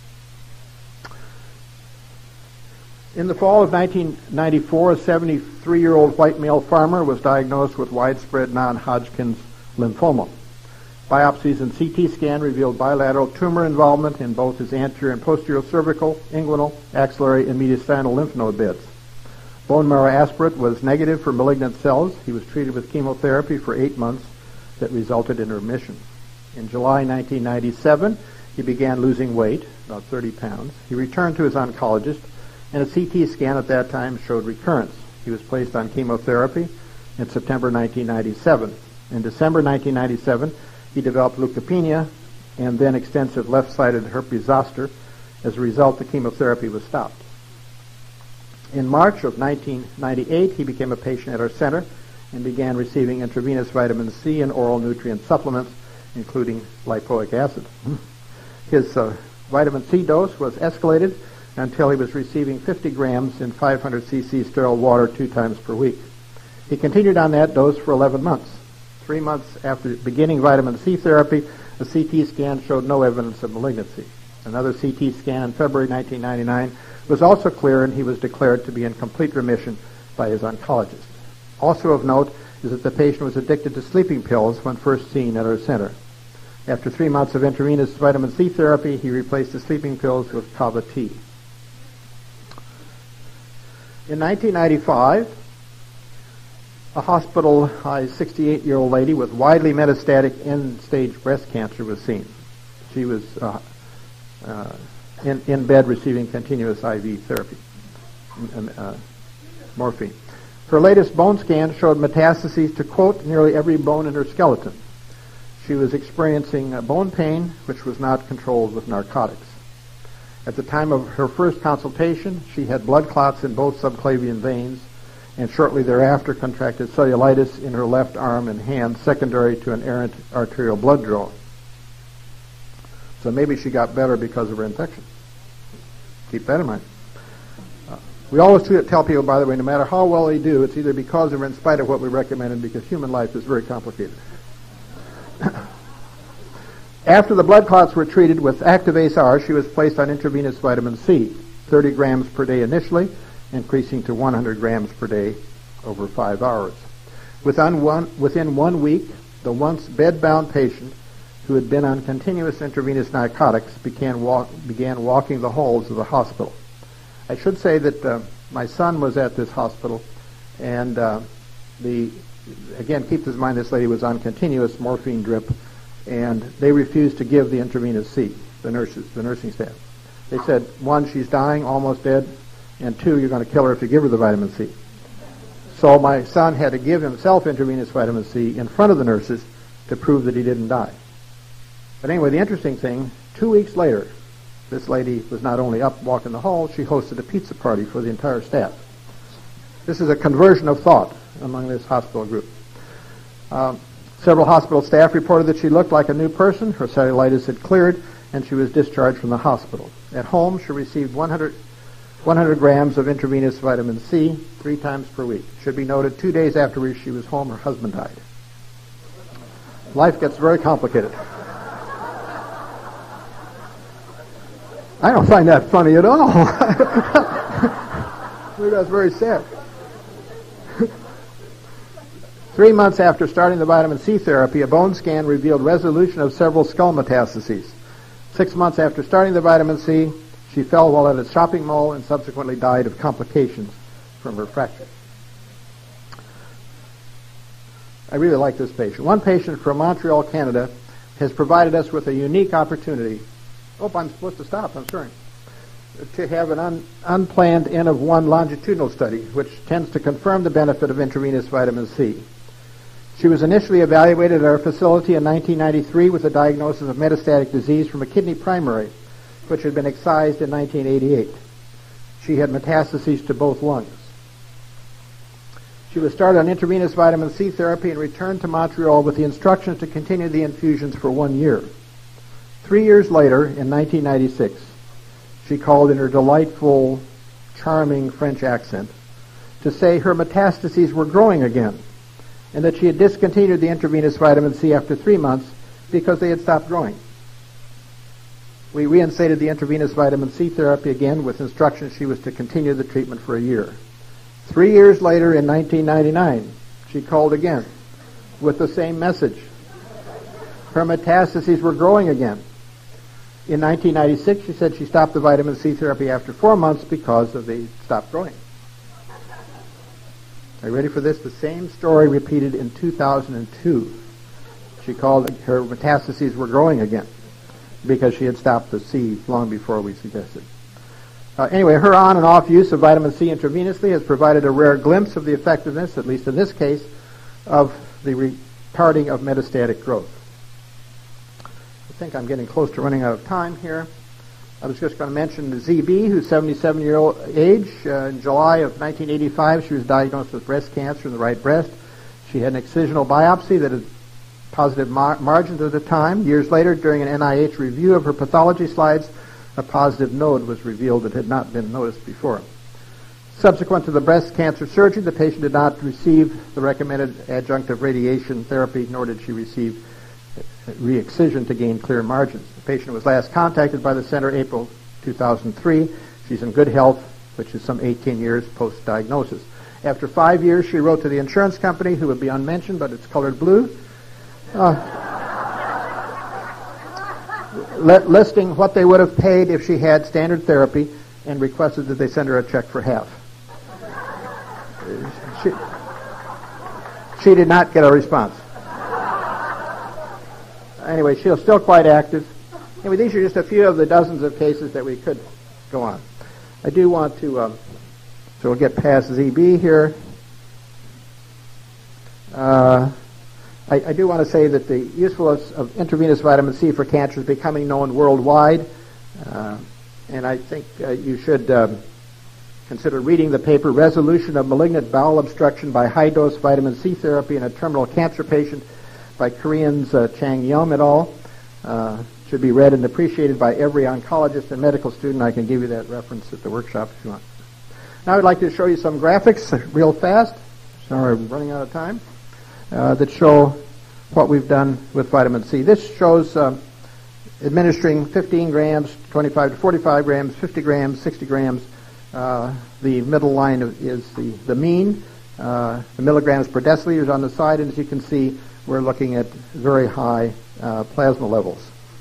Speaker 3: In the fall of 1994, a 73-year-old white male farmer was diagnosed with widespread non-Hodgkin's lymphoma. Biopsies and CT scan revealed bilateral tumor involvement in both his anterior and posterior cervical, inguinal, axillary, and mediastinal lymph node beds. Bone marrow aspirate was negative for malignant cells. He was treated with chemotherapy for 8 months that resulted in remission. In July 1997, he began losing weight, about 30 pounds. He returned to his oncologist, and a CT scan at that time showed recurrence. He was placed on chemotherapy in September 1997. In December 1997, he developed leukopenia and then extensive left-sided herpes zoster. As a result, the chemotherapy was stopped. In March of 1998, he became a patient at our center and began receiving intravenous vitamin C and oral nutrient supplements, including lipoic acid. His vitamin C dose was escalated until he was receiving 50 grams in 500 cc sterile water 2 times per week. He continued on that dose for 11 months. 3 months after beginning vitamin C therapy, a CT scan showed no evidence of malignancy. Another CT scan in February 1999 was also clear, and he was declared to be in complete remission by his oncologist. Also of note is that the patient was addicted to sleeping pills when first seen at our center. After 3 months of intravenous vitamin C therapy, he replaced the sleeping pills with Kava T. In 1995, a hospitalized 68-year-old lady with widely metastatic end-stage breast cancer was seen. She was in bed receiving continuous IV therapy, morphine. Her latest bone scan showed metastases to, quote, nearly every bone in her skeleton. She was experiencing bone pain, which was not controlled with narcotics. At the time of her first consultation, she had blood clots in both subclavian veins, and shortly thereafter contracted cellulitis in her left arm and hand, secondary to an errant arterial blood draw. So maybe she got better because of her infection. Keep that in mind. We always tell people, by the way, no matter how well they do, it's either because or in spite of what we recommended, because human life is very complicated. After the blood clots were treated with Activase R, she was placed on intravenous vitamin C, 30 grams per day initially, increasing to 100 grams per day over 5 hours. Within 1 week, the once bed-bound patient who had been on continuous intravenous narcotics began walking the halls of the hospital. I should say that my son was at this hospital, and again, keep in mind this lady was on continuous morphine drip, and they refused to give the intravenous C, the nursing staff. They said, 1, she's dying, almost dead, and 2, you're going to kill her if you give her the vitamin C. So my son had to give himself intravenous vitamin C in front of the nurses to prove that he didn't die. But anyway, the interesting thing, 2 weeks later, this lady was not only up walking the hall, she hosted a pizza party for the entire staff. This is a conversion of thought among this hospital group. Several hospital staff reported that she looked like a new person, her cellulitis had cleared, and she was discharged from the hospital. At home, she received 100 grams of intravenous vitamin C 3 times per week. It should be noted, 2 days after she was home, her husband died. Life gets very complicated. I don't find that funny at all. That's very sad. 3 months after starting the vitamin C therapy, a bone scan revealed resolution of several skull metastases. 6 months after starting the vitamin C, she fell while at a shopping mall and subsequently died of complications from her fracture. I really like this patient. One patient from Montreal, Canada, has provided us with a unique opportunity. Oh, I'm supposed to stop, I'm sorry. To have an unplanned N of 1 longitudinal study, which tends to confirm the benefit of intravenous vitamin C. She was initially evaluated at our facility in 1993 with a diagnosis of metastatic disease from a kidney primary, which had been excised in 1988. She had metastases to both lungs. She was started on intravenous vitamin C therapy and returned to Montreal with the instructions to continue the infusions for 1 year. 3 years later, in 1996, she called in her delightful, charming French accent to say her metastases were growing again and that she had discontinued the intravenous vitamin C after 3 months because they had stopped growing. We reinstated the intravenous vitamin C therapy again with instructions she was to continue the treatment for a year. 3 years later, in 1999, she called again with the same message. Her metastases were growing again. In 1996, she said she stopped the vitamin C therapy after 4 months because they stopped growing. Are you ready for this? The same story repeated in 2002. She called her metastases were growing again because she had stopped the C long before we suggested. Anyway, her on and off use of vitamin C intravenously has provided a rare glimpse of the effectiveness, at least in this case, of the retarding of metastatic growth. I think I'm getting close to running out of time here. I was just going to mention the ZB, who's 77-year-old age. In July of 1985, she was diagnosed with breast cancer in the right breast. She had an excisional biopsy that had positive margins at the time. Years later, during an NIH review of her pathology slides, a positive node was revealed that had not been noticed before. Subsequent to the breast cancer surgery, the patient did not receive the recommended adjunctive radiation therapy, nor did she receive re-excision to gain clear margins. The patient was last contacted by the center April 2003. She's in good health, which is some 18 years post-diagnosis. After 5 years, she wrote to the insurance company, who would be unmentioned, but it's colored blue, listing what they would have paid if she had standard therapy, and requested that they send her a check for half. She did not get a response. Anyway, she's still quite active, Anyway, these are just a few of the dozens of cases that we could go on. I do want to, so we'll get past ZB here. I do want to say that the usefulness of intravenous vitamin C for cancer is becoming known worldwide, and I think you should consider reading the paper, Resolution of Malignant Bowel Obstruction by High-Dose Vitamin C Therapy in a Terminal Cancer Patient by Koreans Chang Yum et al. Should be read and appreciated by every oncologist and medical student. I can give you that reference at the workshop if you want. Now I'd like to show you some graphics real fast. Sorry, I'm running out of time. That show what we've done with vitamin C. This shows administering 15 grams, 25 to 45 grams, 50 grams, 60 grams. The middle line is the mean. The milligrams per deciliter is on the side, and as you can see, we're looking at very high plasma levels.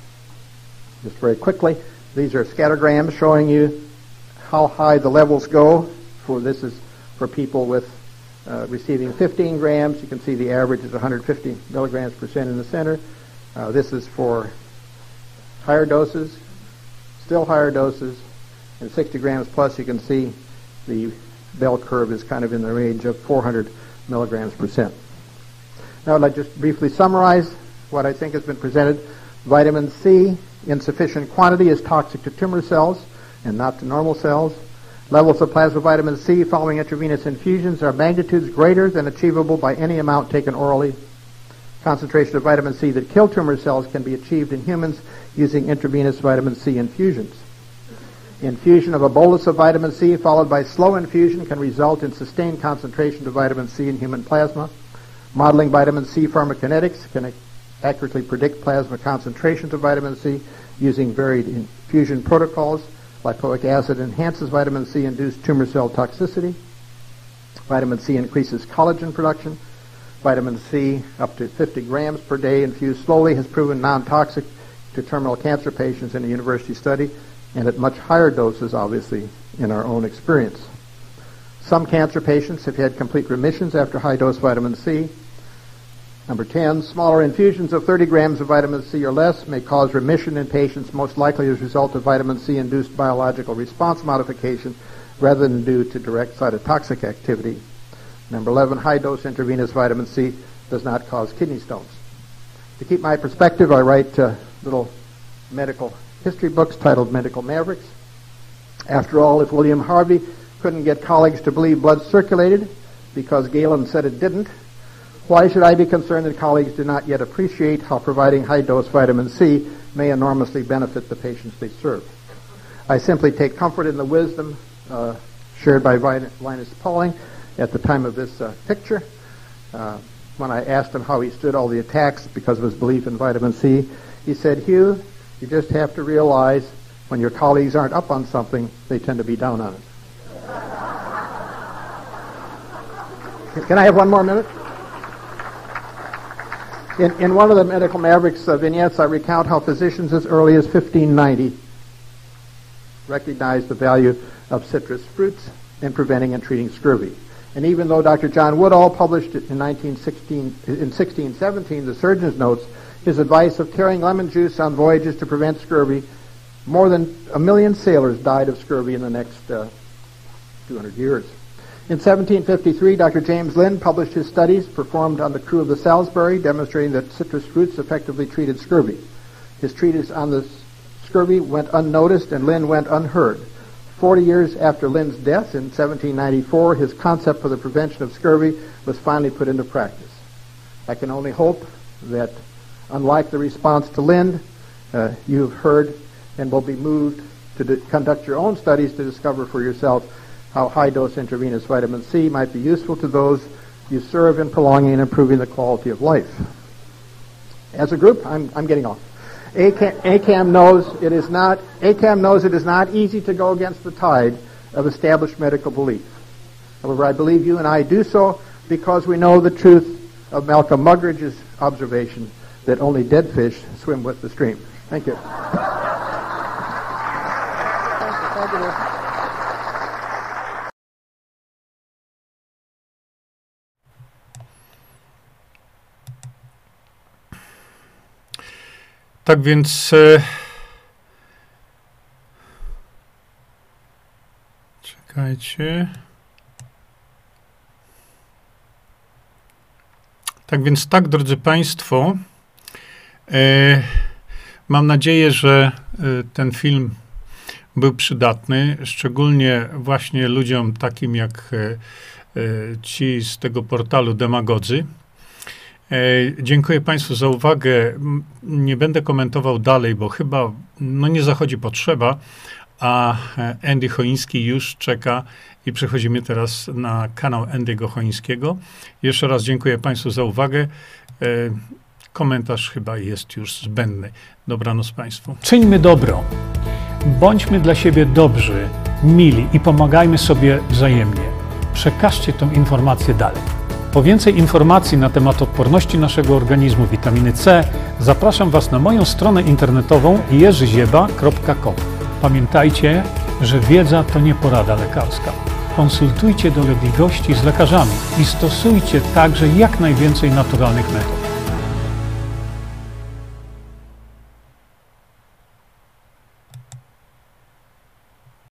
Speaker 3: Just very quickly, these are scattergrams showing you how high the levels go. This is for people with receiving 15 grams. You can see the average is 150 milligrams percent in the center. This is for higher doses, still higher doses, and 60 grams plus. You can see the bell curve is kind of in the range of 400 milligrams percent. Now I'd like to just briefly summarize what I think has been presented. Vitamin C in sufficient quantity is toxic to tumor cells and not to normal cells. Levels of plasma vitamin C following intravenous infusions are magnitudes greater than achievable by any amount taken orally. Concentration of vitamin C that kill tumor cells can be achieved in humans using intravenous vitamin C infusions. Infusion of a bolus of vitamin C followed by slow infusion can result in sustained concentration of vitamin C in human plasma. Modeling vitamin C pharmacokinetics can accurately predict plasma concentrations of vitamin C using varied infusion protocols. Lipoic acid enhances vitamin C-induced tumor cell toxicity. Vitamin C increases collagen production. Vitamin C up to 50 grams per day infused slowly has proven non-toxic to terminal cancer patients in a university study, and at much higher doses, obviously, in our own experience. Some cancer patients have had complete remissions after high-dose vitamin C. Number 10, smaller infusions of 30 grams of vitamin C or less may cause remission in patients most likely as a result of vitamin C-induced biological response modification rather than due to direct cytotoxic activity. Number 11, high-dose intravenous vitamin C does not cause kidney stones. To keep my perspective, I write little medical history books titled Medical Mavericks. After all, if William Harvey couldn't get colleagues to believe blood circulated because Galen said it didn't, why should I be concerned that colleagues do not yet appreciate how providing high-dose vitamin C may enormously benefit the patients they serve? I simply take comfort in the wisdom shared by Linus Pauling at the time of this picture. When I asked him how he stood all the attacks because of his belief in vitamin C, he said, "Hugh, you just have to realize when your colleagues aren't up on something, they tend to be down on it." Can I have one more minute? In one of the Medical Mavericks vignettes, I recount how physicians as early as 1590 recognized the value of citrus fruits in preventing and treating scurvy. And even though Dr. John Woodall published it in 1617 the Surgeon's Notes, his advice of carrying lemon juice on voyages to prevent scurvy, more than 1 million sailors died of scurvy in the next 200 years. In 1753, Dr. James Lind published his studies performed on the crew of the Salisbury, demonstrating that citrus fruits effectively treated scurvy. His treatise on the scurvy went unnoticed and Lind went unheard. 40 years after Lind's death in 1794, his concept for the prevention of scurvy was finally put into practice. I can only hope that, unlike the response to Lind, you've heard and will be moved to conduct your own studies to discover for yourself how high-dose intravenous vitamin C might be useful to those you serve in prolonging and improving the quality of life. As a group, I'm getting off. ACAM knows it is not easy to go against the tide of established medical belief. However, I believe you and I do so because we know the truth of Malcolm Muggeridge's observation that only dead fish swim with the stream. Thank you. Thank you.
Speaker 1: Tak więc Czekajcie. Tak więc tak, drodzy Państwo, mam nadzieję, że ten film był przydatny, szczególnie właśnie ludziom takim jak ci z tego portalu Demagodzy. Dziękuję Państwu za uwagę. Nie będę komentował dalej, bo chyba nie zachodzi potrzeba, a Andy Choiński już czeka i przechodzimy teraz na kanał Andy'ego Choińskiego. Jeszcze raz dziękuję Państwu za uwagę. Komentarz chyba jest już zbędny. Dobranoc Państwu. Czyńmy dobro. Bądźmy dla siebie dobrzy, mili i pomagajmy sobie wzajemnie. Przekażcie tę informację dalej. Po więcej informacji na temat odporności naszego organizmu, witaminy C, zapraszam Was na moją stronę internetową jerzyzieba.com. Pamiętajcie, że wiedza to nie porada lekarska. Konsultujcie dolegliwości z lekarzami i stosujcie także jak najwięcej naturalnych metod.